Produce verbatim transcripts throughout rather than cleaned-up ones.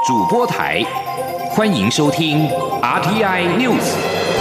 主播台，欢迎收听 R T I News。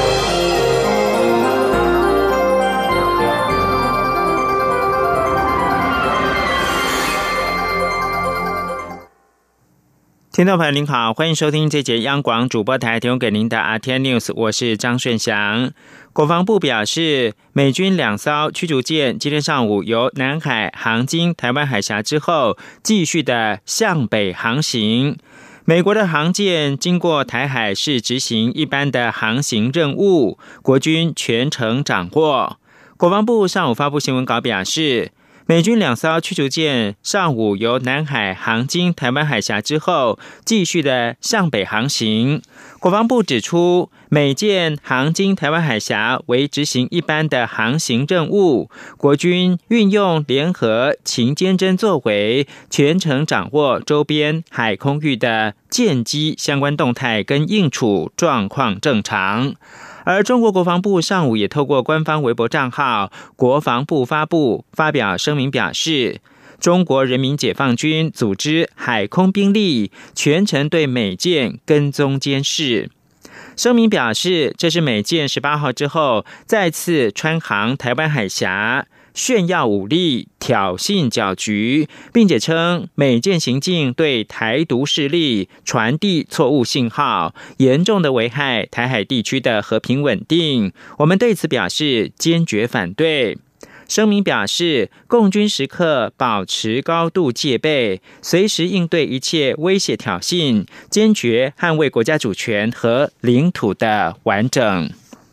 听众朋友您好，欢迎收听这节央广主播台提供给您的 R T I News， 我是张顺祥。国防部表示，美军两艘驱逐舰今天上午由南海航经台湾海峡之后，继续的向北航行。美国的航舰经过台海是执行一般的航行任务，国军全程掌握。国防部上午发布新闻稿表示，美军两艘驱逐舰上午由南海航经台湾海峡之后，继续的向北航行。国防部指出，美舰航经台湾海峡为执行一般的航行任务，国军运用联合勤监侦作为，全程掌握周边海空域的舰机相关动态跟应处状况正常。而中国国防部上午也透过官方微博账号国防部发布发表声明表示，中国人民解放军组织海空兵力全程对美舰跟踪监视。声明表示，这是美舰十八号之后再次穿航台湾海峡，炫耀武力，挑衅搅局，并且称美舰行径对台独势力传递错误信号，严重的危害台海地区的和平稳定。我们对此表示坚决反对。声明表示，共军时刻保持高度戒备，随时应对一切威胁挑衅，坚决捍卫国家主权和领土的完整。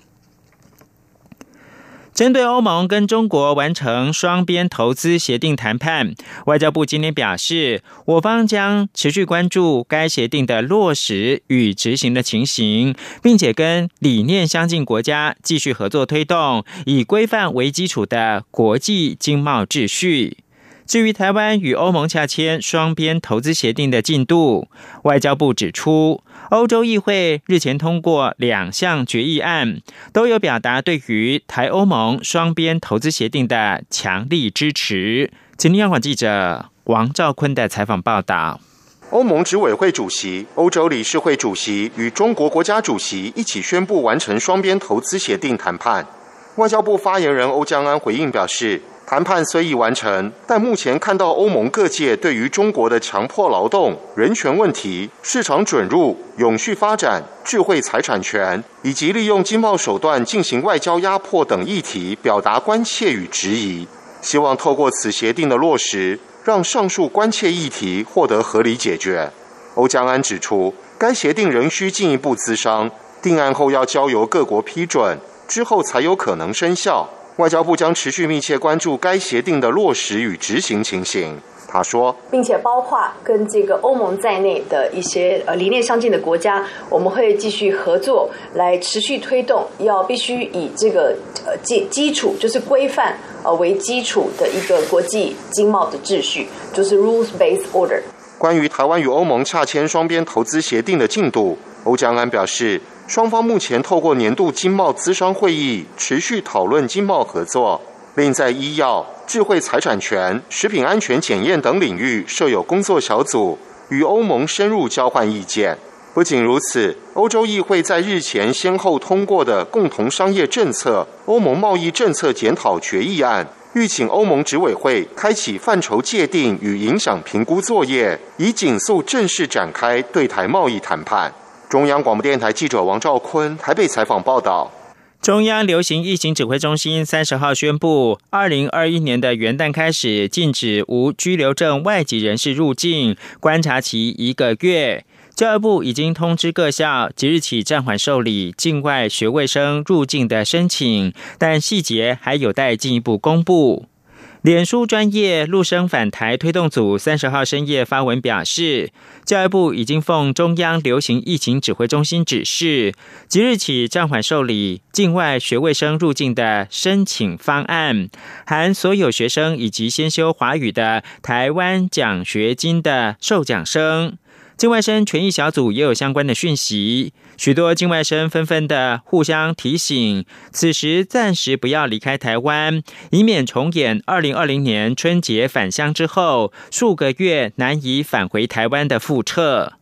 针对欧盟跟中国完成双边投资协定谈判，外交部今天表示，我方将持续关注该协定的落实与执行的情形，并且跟理念相近国家继续合作推动以规范为基础的国际经贸秩序。至于台湾与欧盟洽签双边投资协定的进度，外交部指出，欧洲议会日前通过两项决议案，都有表达对于台欧盟双边投资协定的强力支持。今天央广记者王兆坤的采访报道。 欧盟执委会主席、欧洲理事会主席与中国国家主席一起宣布完成双边投资协定谈判。外交部发言人欧江安回应表示，谈判虽已完成，但目前看到欧盟各界对于中国的强迫劳动、人权问题、市场准入、永续发展、智慧财产权以及利用经贸手段进行外交压迫等议题表达关切与质疑，希望透过此协定的落实，让上述关切议题获得合理解决。欧江安指出，该协定仍需进一步咨商，定案后要交由各国批准，之后才有可能生效。外交部将持续密切关注该协定的落实与执行情形。他说， 并且包括跟这个欧盟在内的一些呃理念相近的国家，我们会继续合作，来持续推动，要必须以这个呃基基础就是规范呃为基础的一个国际经贸的秩序，就是 rules-based order。 关于台湾与欧盟洽签双边投资协定的进度，欧江安表示，双方目前透过年度经贸咨商会议持续讨论经贸合作，另在医药、智慧财产权、食品安全检验等领域设有工作小组，与欧盟深入交换意见。不仅如此，欧洲议会在日前先后通过的共同商业政策、欧盟贸易政策检讨决议案，预请欧盟执委会开启范畴界定与影响评估作业，以紧速正式展开对台贸易谈判。中央广播电台记者王兆坤台北采访报道。 中央流行疫情指挥中心三十号宣布，二零二一年的元旦开始禁止无居留证外籍人士入境，观察期一个月。教育部已经通知各校，即日起暂缓受理境外学位生入境的申请，但细节还有待进一步公布。脸书专页陆生返台推动组三十号深夜发文表示，教育部已经奉中央流行疫情指挥中心指示，即日起暂缓受理境外学位生入境的申请方案，含所有学生以及先修华语的台湾奖学金的受奖生。境外生权益小组也有相关的讯息，许多境外生纷纷的互相提醒，此时暂时不要离开台湾，以免重演二零二零年春节返乡之后数个月难以返回台湾的覆辙。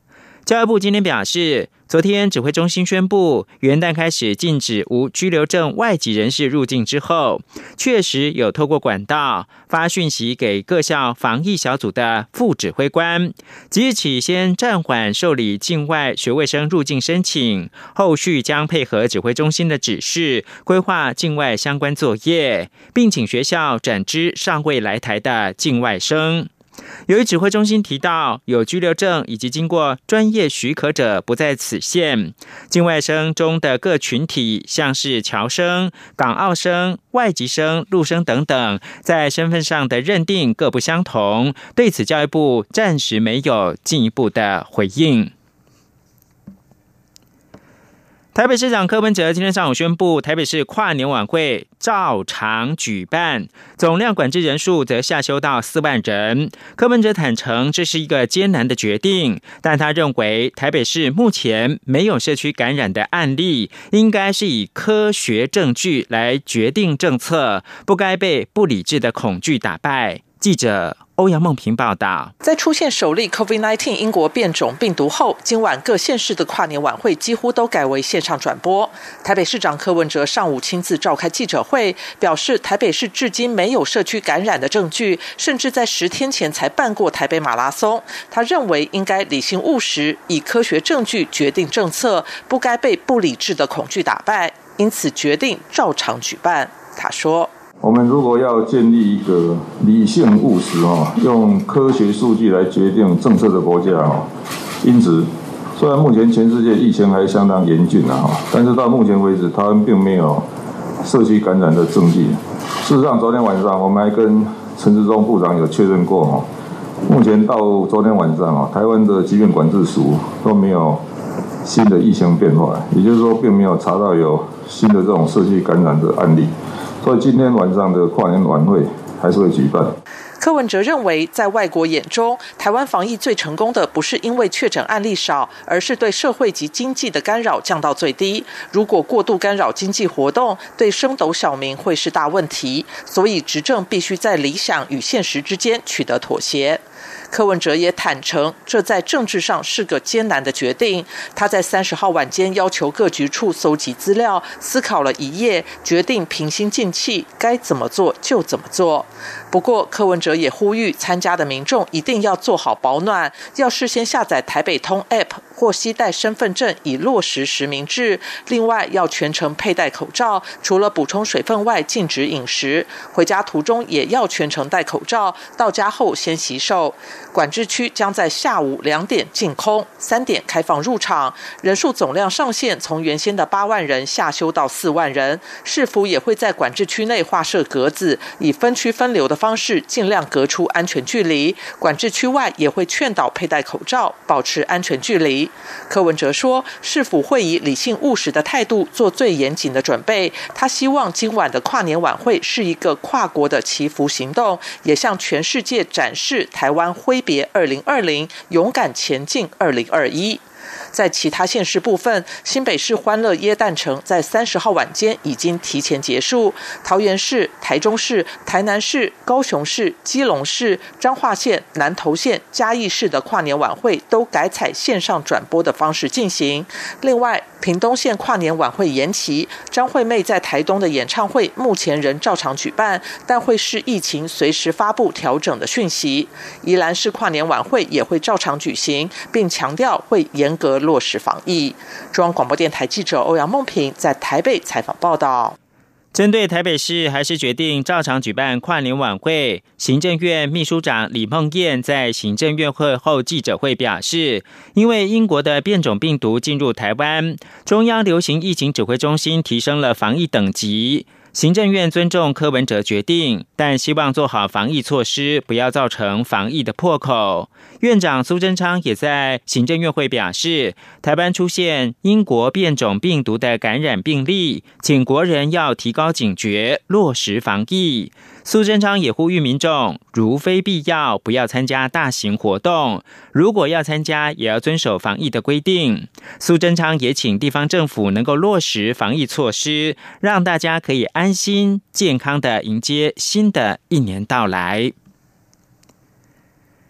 教育部今天表示，昨天指挥中心宣布，元旦开始禁止无居留证外籍人士入境之后，确实有透过管道发讯息给各校防疫小组的副指挥官，即日起先暂缓受理境外学位生入境申请，后续将配合指挥中心的指示，规划境外相关作业，并请学校展知尚未来台的境外生。由于指挥中心提到，有居留证以及经过专业许可者不在此限，境外生中的各群体，像是侨生、港澳生、外籍生、陆生等等，在身份上的认定各不相同。对此，教育部暂时没有进一步的回应。台北市长柯文哲今天上午宣布，台北市跨年晚会照常举办，总量管制人数则下修到四万人。柯文哲坦承这是一个艰难的决定，但他认为台北市目前没有社区感染的案例，应该是以科学证据来决定政策，不该被不理智的恐惧打败。记者欧阳梦平报道， 在出现首例 COVID 十九 英国变种病毒后，今晚各县市的跨年晚会几乎都改为线上转播。台北市长柯文哲上午亲自召开记者会，表示台北市至今没有社区感染的证据，甚至在十天前才办过台北马拉松。他认为应该理性务实，以科学证据决定政策，不该被不理智的恐惧打败，因此决定照常举办。他说， 我们如果要建立一个理性务实、哦、用科学数据来决定政策的国家、哦、因此虽然目前全世界疫情还相当严峻、啊、但是到目前为止台湾并没有社区感染的证据。事实上昨天晚上我们还跟陈时中部长有确认过、哦、目前到昨天晚上、哦、台湾的疾病管制署都没有新的疫情变化，也就是说并没有查到有新的这种社区感染的案例，所以今天晚上的跨年晚会还是会举办。 柯文哲认为，在外国眼中，台湾防疫最成功的不是因为确诊案例少，而是对社会及经济的干扰降到最低。如果过度干扰经济活动，对升斗小民会是大问题。所以执政必须在理想与现实之间取得妥协。柯文哲也坦承，这在政治上是个艰难的决定。他在三十号晚间要求各局处搜集资料，思考了一夜，决定平心静气，该怎么做就怎么做。不过，柯文哲也呼吁参加的民众一定要做好保暖，要事先下载台北通 App 或携带身份证，以落实实名制。另外，要全程佩戴口罩，除了补充水分外，禁止饮食。回家途中也要全程戴口罩，到家后先洗手。管制区将在下午两点净空，三点开放入场，人数总量上限从原先的八万人下修到四万人。市府也会在管制区内划设格子，以分区分流的方式尽量隔出安全距离。管制区外也会劝导佩戴口罩，保持安全距离。柯文哲说，市府会以理性务实的态度做最严谨的准备。他希望今晚的跨年晚会是一个跨国的祈福行动，也向全世界展示台湾挥别二零二零，勇敢前进二零二一。在其他县市部分，新北市欢乐耶诞城在三十号晚间已经提前结束，桃园市、台中市、台南市、高雄市、基隆市、彰化县、南投县、嘉义市的跨年晚会都改采线上转播的方式进行。另外，屏东县跨年晚会延期，张惠妹在台东的演唱会目前仍照常举办，但会视疫情随时发布调整的讯息。宜兰市跨年晚会也会照常举行，并强调会严格落实防疫。中央广播电台记者欧阳梦平在台北采访报道。 针对台北市还是决定照常举办跨年晚会，行政院秘书长李孟燕在行政院会后记者会表示，因为英国的变种病毒进入台湾，中央流行疫情指挥中心提升了防疫等级。行政院尊重柯文哲决定，但希望做好防疫措施，不要造成防疫的破口。院长苏贞昌也在行政院会表示，台湾出现英国变种病毒的感染病例，请国人要提高警觉，落实防疫。苏贞昌也呼吁民众，如非必要，不要参加大型活动，如果要参加，也要遵守防疫的规定。苏贞昌也请地方政府能够落实防疫措施，让大家可以安心健康的迎接新的一年到来。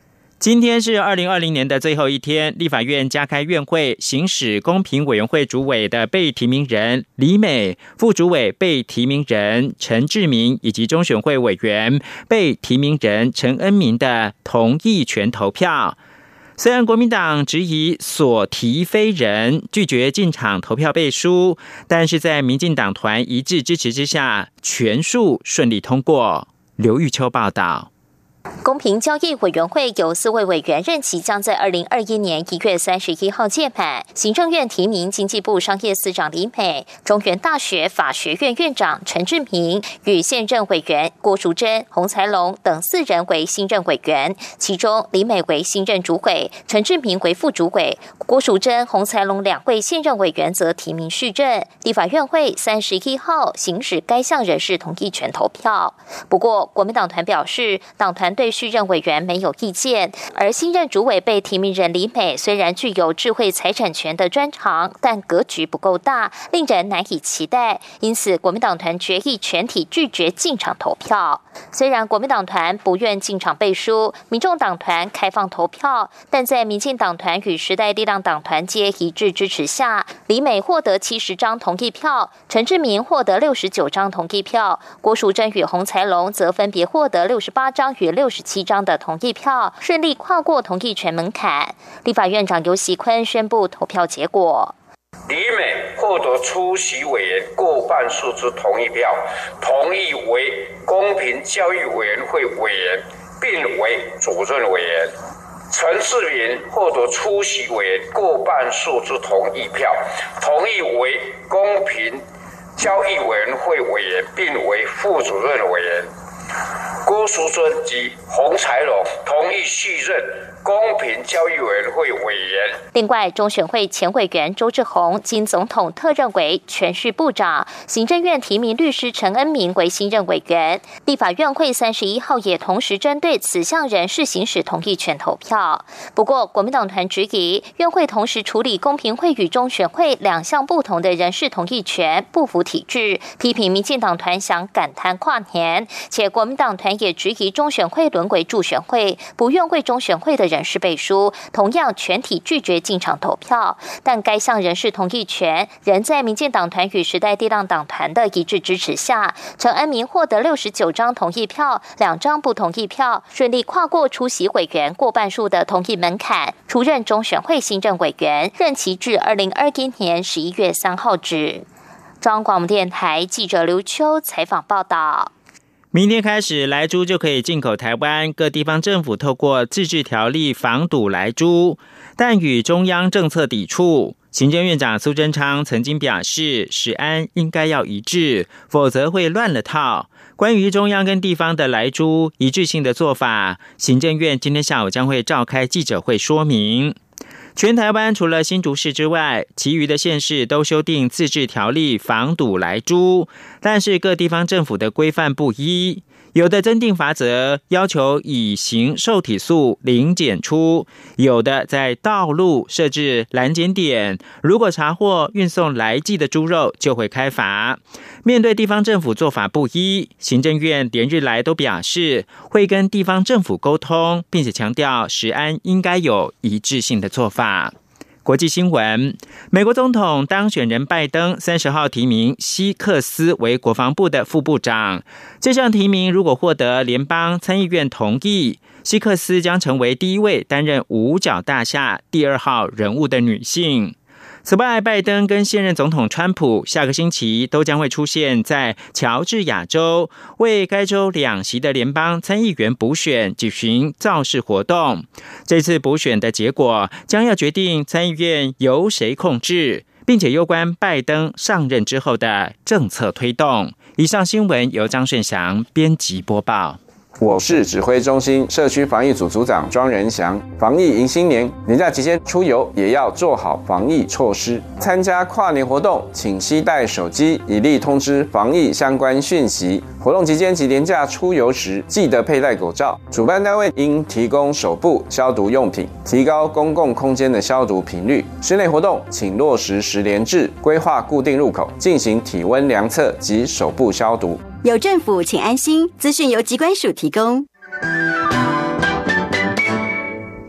今天是二零二零年的最后一天，立法院加开院会，行使公平委员会主委的被提名人李美、副主委被提名人陈志明以及中选会委员被提名人陈恩民的同意权投票。虽然国民党质疑所提非人，拒绝进场投票背书，但是在民进党团一致支持之下，全数顺利通过。刘玉秋报道。 公平交易委员会有四位委员任期将在二零二一年一月三十一号届满，行政院提名经济部商业司长李美、中原大学法学院院长陈志明与现任委员郭淑珍、洪才龙等四人为新任委员，其中李美为新任主委，陈志明为副主委，郭淑珍、洪才龙两位现任委员则提名续任。立法院会三十一号行使该项人事同意权投票。不过，国民党团表示，党团对续任委员没有意见，而新任主委被提名人李美虽然具有智慧财产权的专长，但格局不够大，令人难以期待。因此，国民党团决议全体拒绝进场投票。虽然国民党团不愿进场背书，民众党团开放投票，但在民进党团与时代力量党团皆一致支持下，李美获得七十张同意票，陈志明获得六十九张同意票，郭淑珍与洪才龙则分别获得六十八张与六十七张的同意票，顺利跨过同意权门槛。立法院长游锡堃宣布投票结果。 李美获得出席委员过半数之同意票，同意为公平交易委员会委员，并为主任委员。陈志明获得出席委员过半数之同意票，同意为公平交易委员会委员，并为副主任委员。郭淑珍及洪才龙同意续任公平交易委员会委员。 另外，中选会前委员周志宏经总统特任为全序部长，行政院提名律师陈恩民为新任委员。立法院会三十一号也同时针对此项人事行使同意权投票。不过，国民党团质疑院会同时处理公平会与中选会两项不同的人事同意权，不符体制，批评民进党团想赶摊跨年，且国民党团也质疑中选会沦为助选会，不愿为中选会的人事背书，同样全体拒绝进场投票。但该项人事同意权仍在民进党团与时代力量党团的一致支持下，陈恩民获得六十九张同意票，两张不同意票，顺利跨过出席委员过半数的同意门槛，出任中选会新任委员，任期至二零二一年十一月三号止。中央广播电台记者刘秋采访报道。 明天开始，莱猪就可以进口台湾，各地方政府透过自治条例防堵莱猪，但与中央政策抵触。行政院长苏贞昌曾经表示，食安应该要一致，否则会乱了套。关于中央跟地方的莱猪一致性的做法，行政院今天下午将会召开记者会说明。全台湾除了新竹市之外，其余的县市都修订自治条例防堵莱猪，但是各地方政府的规范不一，有的增订罚则，要求乙型受体素零检出，有的在道路设置拦检点，如果查获运送来寄的猪肉就会开罚。面对地方政府做法不一，行政院连日来都表示会跟地方政府沟通，并且强调食安应该有一致性的做法。国际新闻，美国总统当选人拜登三十号提名希克斯为国防部的副部长。这项提名如果获得联邦参议院同意，希克斯将成为第一位担任五角大厦第二号人物的女性。此外，拜登跟现任总统川普下个星期都将会出现在乔治亚州，为该州两席的联邦参议员补选举行造势活动。这次补选的结果将要决定参议院由谁控制，并且攸关拜登上任之后的政策推动。以上新闻由张顺祥编辑播报。 我是指挥中心社区防疫组组长庄仁祥。防疫迎新年，年假期间出游也要做好防疫措施。参加跨年活动，请携带手机，以利通知防疫相关讯息。活动期间及年假出游时，记得佩戴口罩。主办单位应提供手部消毒用品，提高公共空间的消毒频率。室内活动，请落实实联制，规划固定入口，进行体温量测及手部消毒。 有政府，请安心。资讯由疾管署提供。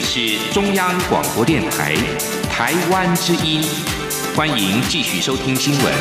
是中央广播电台台湾之音，欢迎继续收听新闻。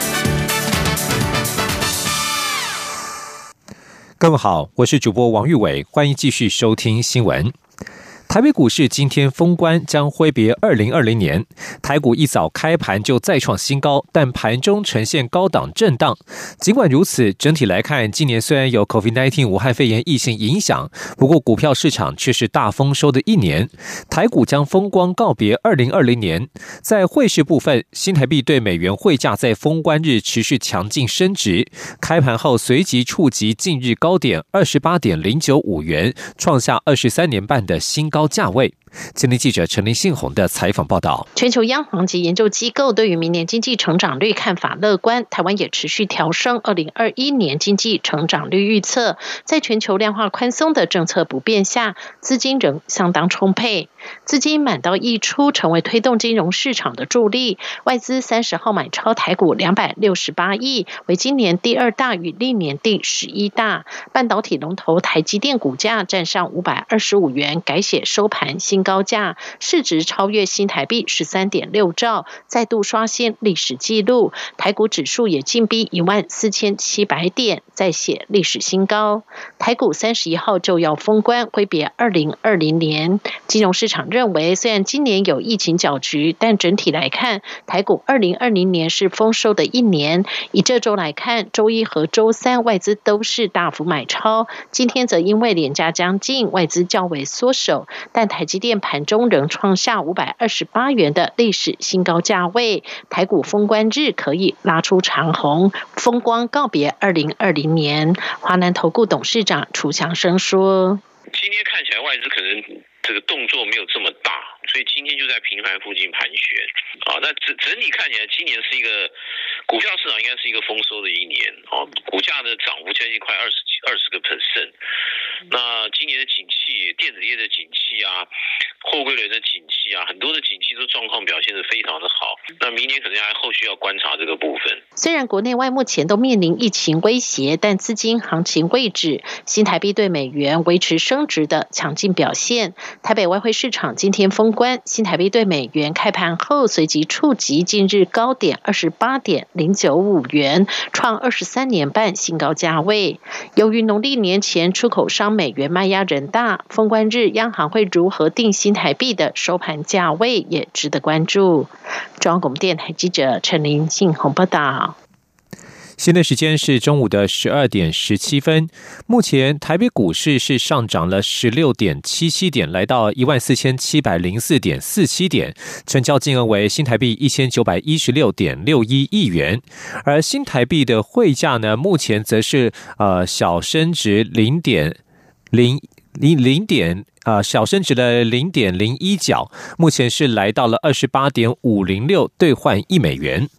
各位好，我是主播王玉伟，欢迎继续收听新闻。台北股市今天封关，将挥别二零二零年。台股一早开盘就再创新高，但盘中呈现高档震荡。尽管如此，整体来看，今年虽然有 COVID 十九 武汉肺炎疫情影响，不过股票市场却是大丰收的一年。台股将风光告别二零二零年。在汇市部分，新台币对美元汇价在封关日持续强劲升值，开盘后随即触及近日高点 二十八点零九五元，创下二十三年半的新高。高价位。今天记者陈林信宏的采访报道。 全球央行及研究机构对于明年经济成长率看法乐观，台湾也持续调升二零二一年经济成长率预测。在全球量化宽松的政策不变下，资金仍相当充沛，资金满到溢出，成为推动金融市场的助力。外资三十号买超台股两百六十八亿，为今年第二大，与历年第十一大。半导体龙头台积电股价站上五百二十五元，改写收盘新高价，市值超越新台币 十三点六兆，再度刷新历史纪录。台股指数也进逼一万四千七百点，再写历史新高。台股三十一号就要封关，挥别二零二零年。金融市场认为，虽然今年有疫情搅局，但整体来看，台股二零二零年是丰收的一年。以这周来看，周一和周三外资都是大幅买超，今天则因为连假将近，外资较为缩手，但台积电盘中仍创下五百二十八元的历史新高价位，台股封关日可以拉出长红，风光告别二零二零年。华南投顾董事长楚强生说：“ 今天看起来外资可能这个动作没有这么大，所以今天就在平盘附近盘旋啊。那整整体看起来，今年是一个股票市场应该是一个丰收的一年啊，股价的涨幅将近快二十二十个 percent。那今年的景气，电子业的景气啊，货柜轮的景气啊，很多的景气都状况表现得非常的好。那明年可能还后续要观察这个部分。 虽然国内外目前都面临疫情威胁，但资金行情未止，新台币对美元维持升值的强劲表现。台北外汇市场今天封关，新台币对美元开盘后随即触及近日高点 二十八点零九五元，创二十三年半新高价位。由于农历年前出口商美元卖压人大，封关日央行会如何定新台币的收盘价位也值得关注。中央广播电台记者陈林信宏报道。 现在时间是中午的十二点十七分。目前台北股市是上涨了十六点七七点，来到一万四千七百零四点四七点，成交金额为新台币一千九百一十六点六一亿元。而新台币的汇价呢，目前则是呃小升值零点零零零点呃小升值了零点零一角，目前是来到了二十八点五零六兑换一美元。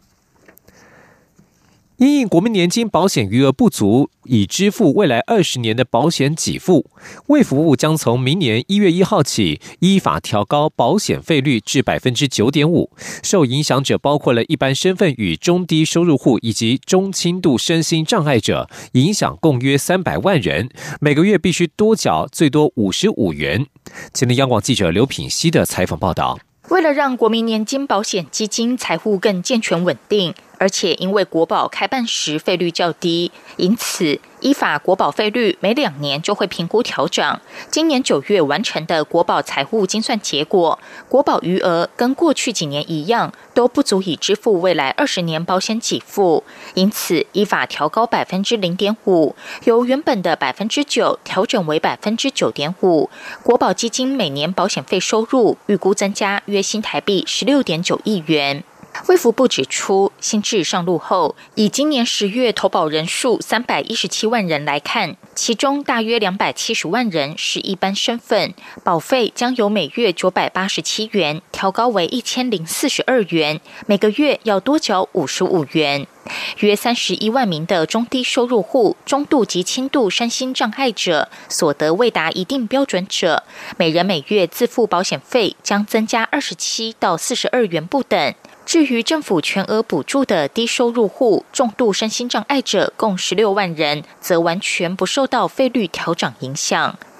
因应国民年金保险余额不足，已支付未来二十年的保险给付，卫福部将从明年一月一号起，依法调高保险费率至百分之九点五。受影响者包括了一般身份与中低收入户以及中轻度身心障碍者，影响共约三百万人，每个月必须多缴最多五十五元。前天央广记者刘品希的采访报道。 为了让国民年金保险基金财务更健全稳定，而且因为国保开办时费率较低，因此依法国保费率每两年就会评估调整。今年九月完成的国保财务精算结果，国保余额跟过去几年一样，都不足以支付未来二十年保险给付，因此依法调高百分之零点五，由原本的百分之九调整为百分之九点五。国保基金每年保险费收入预估增加约新台币十六点九亿元。卫福部指出，新制上路后，以今年十月投保人数三百一十七万人来看，其中大约两百七十万人是一般身份，保费将由每月九百八十七元调高为一千零四十二元，每个月要多缴五十五元。约三十一万名的中低收入户、中度及轻度身心障碍者，所得未达一定标准者，每人每月自付保险费将增加二十七到四十二元不等。至于政府全额补助的低收入户、重度身心障碍者共十六万人，则完全不受到费率调整影响。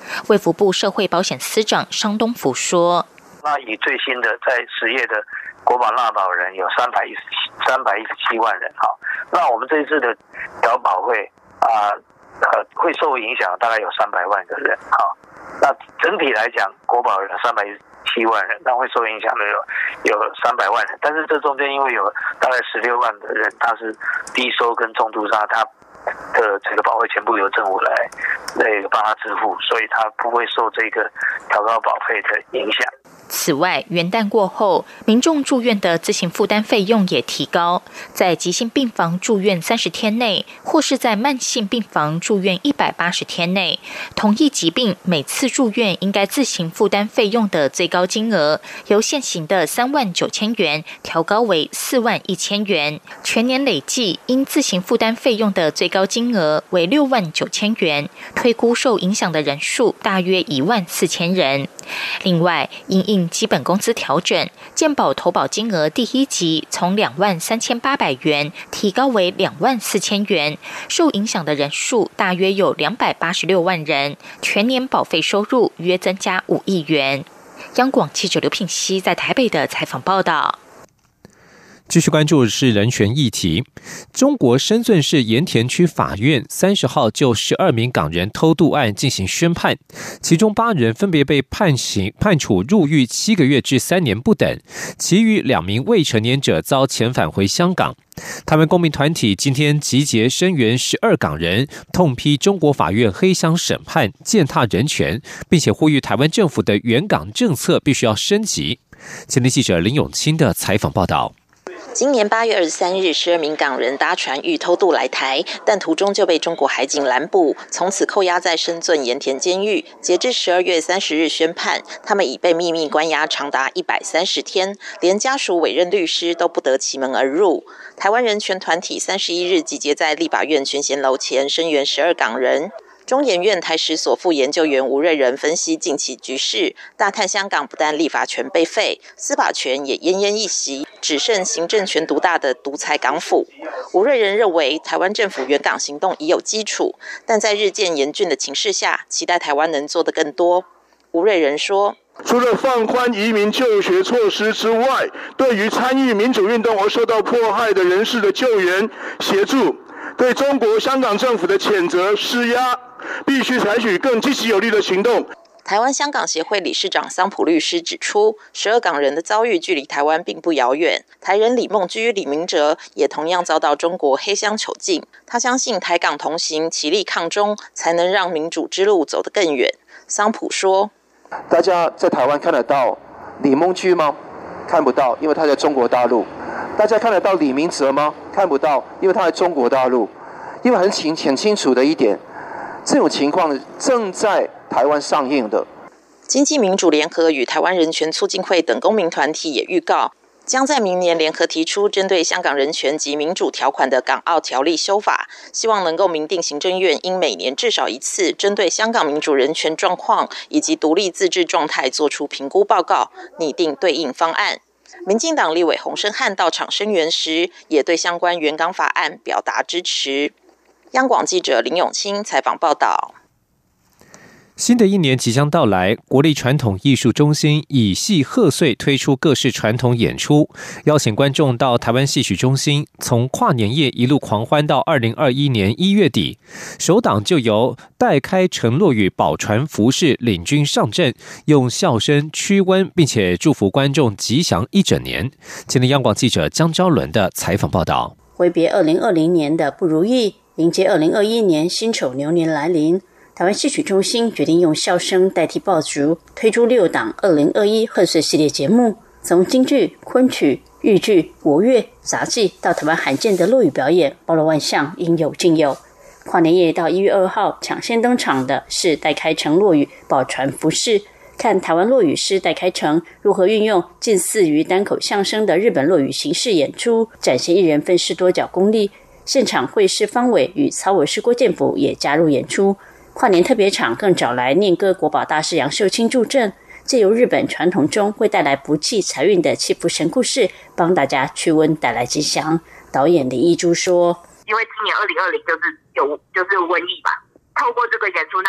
卫福部社会保险司长商东福说：“ 那以最新的在十月的国保纳保人有三百一十七三百一十七万人，好，那我们这一次的调保会啊呃会受影响，大概有三百万个人，好，那整体来讲，国保有三百一十七万人，那会受影响的有有三百万人，但是这中间因为有大概十六万的人他是低收跟重度伤，他的这个保费全部由政府来那个帮他支付，所以他不会受这个调高保费的影响。” 此外，元旦过后，民众住院的自行负担费用也提高，在急性病房住院三十天内，或是在慢性病房住院一百八十天内，同一疾病每次住院应该自行负担费用的最高金额，由现行的三万九千元调高为四万一千元，全年累计应自行负担费用的最高金额为六万九千元，推估受影响的人数大约一万四千人。另外，因应基本工资调整，健保投保金额第一级从两万三千八百元提高为两万四千元，受影响的人数大约有两百八十六万人，全年保费收入约增加五亿元。央广记者刘品熙在台北的采访报道。 继续关注的是人权议题。中国深圳市盐田区法院三十号就十二名港人偷渡案进行宣判，其中八人分别被判刑判处入狱七个月至三年不等，其余两名未成年者遭遣返回香港。台湾公民团体今天集结声援十二港人，痛批中国法院黑箱审判，践踏人权，并且呼吁台湾政府的援港政策必须要升级。前天记者林永清的采访报道。 今年八月二十三日，十二名港人搭船欲偷渡来台，但途中就被中国海警拦捕，从此扣押在深圳盐田监狱。截至十二月三十日宣判，他们已被秘密关押长达一百三十天，连家属委任律师都不得其门而入。台湾人权团体三十一日集结在立法院全贤楼前声援十二港人。中研院台史所副研究员吴瑞仁分析近期局势，大叹香港不但立法权被废，司法权也奄奄一息，只剩行政权独大的独裁港府。吴瑞仁认为，台湾政府援港行动已有基础，但在日渐严峻的情势下，期待台湾能做得更多。吴瑞仁说， 除了放宽移民就学措施之外，对于参与民主运动而受到迫害的人士的救援协助，对中国香港政府的谴责施压，必须采取更积极有力的行动。 台湾香港协会理事长桑普律师指出，十二港人的遭遇距离台湾并不遥远。台人李梦居、李明哲也同样遭到中国黑箱囚禁。他相信台港同行，齐力抗中，才能让民主之路走得更远。桑普说：“ 大家在台湾看得到李梦居吗？看不到，因为他在中国大陆。大家看得到李明哲吗？看不到，因为他在中国大陆。因为很清很清楚的一点，这种情况正在台湾上映的。” 经济民主联合与台湾人权促进会等公民团体也预告，将在明年联合提出针对香港人权及民主条款的港澳条例修法，希望能够明定行政院应每年至少一次针对香港民主人权状况以及独立自治状态做出评估报告，拟定对应方案。民进党立委洪申翰到场声援时，也对相关援港法案表达支持。央广记者林永清采访报道。 新的一年即将到来，国立传统艺术中心以戏贺岁推出各式传统演出，邀请观众到台湾戏曲中心，从跨年夜一路狂欢到二零二一年一月底。首档就由戴开承诺与宝传服饰领军上阵，用笑声驱瘟，并且祝福观众吉祥一整年。今天央广记者江昭伦的采访报道。 挥别二零二零年的不如意，迎接二零二一年辛丑牛年来临，台湾戏曲中心决定用笑声代替爆竹，推出六档二零二一贺岁系列节目，从京剧、昆曲、豫剧、国乐、杂技到台湾罕见的落语表演，包罗万象，应有尽有。跨年夜到一月二号抢先登场的是戴开成落语宝传服饰，看台湾落语师戴开成如何运用近似于单口相声的日本落语形式演出，展现一人分饰多角功力。现场会师方伟与曹伟师郭建甫也加入演出。跨年特别场更找来念歌国宝大师杨秀清助阵，借由日本传统中会带来福气财运的祈福神故事，帮大家驱瘟带来吉祥。导演林义珠说：“ 因为今年二零二零就是有就是瘟疫嘛，透过这个演出，那以彼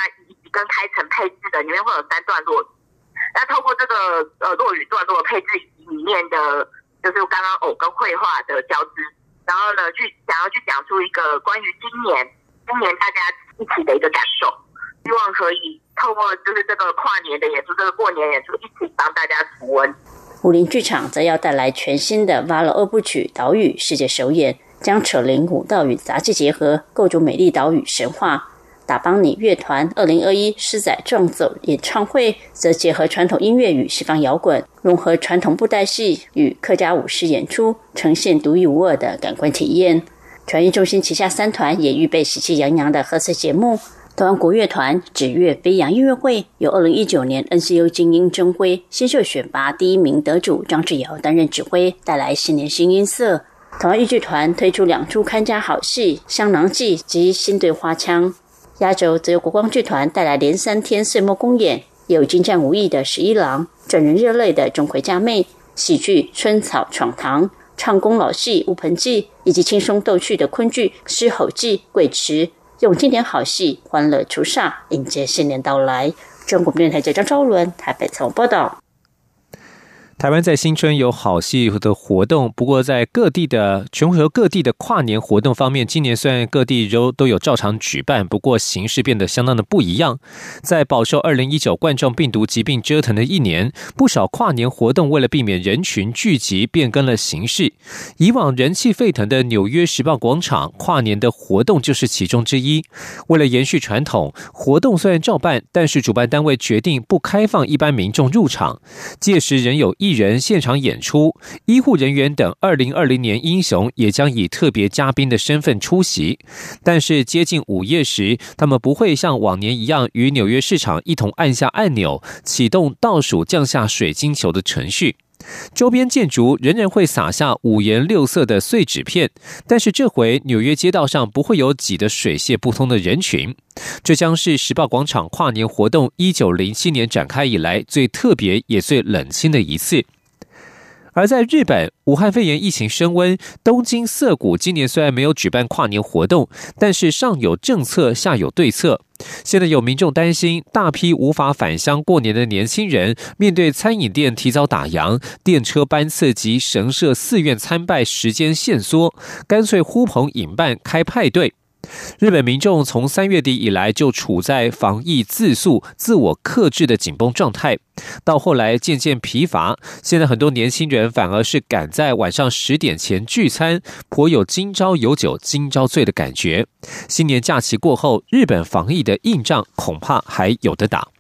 跟开城配置的，里面会有三段落语。那透过这个呃落语段落的配置里面的，就是刚刚偶跟绘画的交织，然后呢，去想要去讲出一个关于今年今年大家一起的一个感受，希望可以透过就是这个跨年的演出，这个过年演出，一起帮大家除温。 武林剧场则要带来全新的 Valo 二部曲岛屿世界首演，将扯铃舞蹈与杂技结合，构筑美丽岛屿神话。打邦尼乐团二零二一狮仔撞走演唱会则结合传统音乐与西方摇滚，融合传统布袋戏与客家舞狮演出，呈现独一无二的感官体验。传艺中心旗下三团也预备喜气洋洋的贺岁节目。台湾国乐团指乐飞扬音乐会由二零一九年 N C U 精英争辉新秀选拔第一名得主张志尧担任指挥，带来新年新音色。台湾豫剧团推出两出看家好戏《香囊记》及《新队花腔》。压轴则由国光剧团带来连三天岁末公演，也有精湛武艺的十一郎、转人热泪的钟馗家妹、喜剧春草闯堂、唱功老戏乌盆记，以及轻松逗趣的昆剧狮吼记贵池，用经典好戏欢乐除煞，迎接新年到来。中国电台记者张昭伦台北采访报道。 台湾在新春有好戏的活动，不过在各地的全国各地的跨年活动方面，今年虽然各地都都有照常举办，不过形式变得相当的不一样。在饱受二零一九冠状病毒疾病折腾的一年，不少跨年活动为了避免人群聚集，变更了形式。以往人气沸腾的纽约时报广场跨年的活动就是其中之一。为了延续传统，活动虽然照办，但是主办单位决定不开放一般民众入场，届时仍有艺人现场演出，医护人员等二零二零年英雄也将以特别嘉宾的身份出席。但是接近午夜时，他们不会像往年一样与纽约市场一同按下按钮，启动倒数降下水晶球的程序。周边建筑仍然会撒下五颜六色的碎纸片，但是这回纽约街道上不会有挤得水泄不通的人群。这将是时报广场跨年活动一九零七年展开以来最特别也最冷清的一次。而在日本，武汉肺炎疫情升温，东京涩谷今年虽然没有举办跨年活动，但是上有政策，下有对策。现在有民众担心，大批无法返乡过年的年轻人，面对餐饮店提早打烊、电车班次及神社寺院参拜时间限缩，干脆呼朋引伴开派对。日本民众从三月底以来就处在防疫自诉、自我克制的紧绷状态，到后来渐渐疲乏，现在很多年轻人反而是赶在晚上十点前聚餐，颇有今朝有酒今朝醉的感觉。新年假期过后，日本防疫的硬仗恐怕还有得打。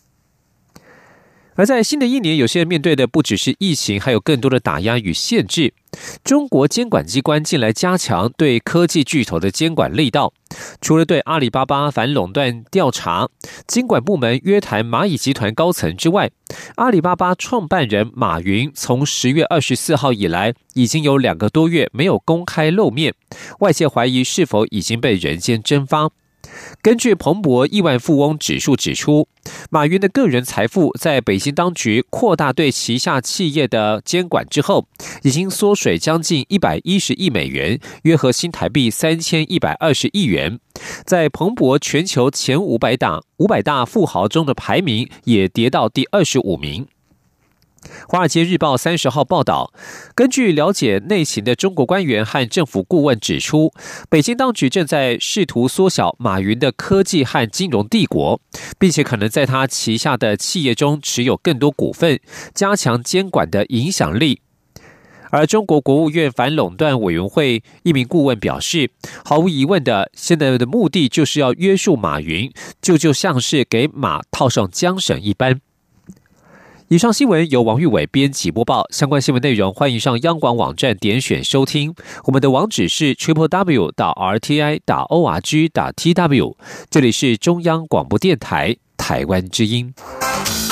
而在新的一年，有些人面对的不只是疫情，还有更多的打压与限制。中国监管机关近来加强对科技巨头的监管力道，除了对阿里巴巴反垄断调查，监管部门约谈蚂蚁集团高层之外，阿里巴巴创办人马云从十月二十四号以来，已经有两个多月没有公开露面，外界怀疑是否已经被人间蒸发。根据彭博亿万富翁指数指出，马云的个人财富在北京当局扩大对旗下企业的监管之后，已经缩水将近一百一十亿美元，约合新台币三千一百二十亿元。在彭博全球前五百大五百大富豪中的排名也跌到第二十五名。华尔街日报三十号报道，根据了解内情的中国官员和政府顾问指出，北京当局正在试图缩小马云的科技和金融帝国，并且可能在他旗下的企业中持有更多股份，加强监管的影响力。而中国国务院反垄断委员会一名顾问表示，毫无疑问的，现在的目的就是要约束马云，就就像是给马套上缰绳一般。以上新闻由王玉伟编辑播报，相关新闻内容欢迎上央广网站点选收听。我们的网址是 triple w 点 r t i 点 o r g 点 t w。这里是中央广播电台台湾之音。